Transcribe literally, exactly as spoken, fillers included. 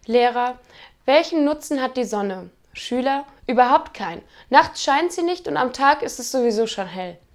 Lehrer: Welchen Nutzen hat die Sonne? Schüler: Überhaupt keinen. Nachts scheint sie nicht und am Tag ist es sowieso schon hell.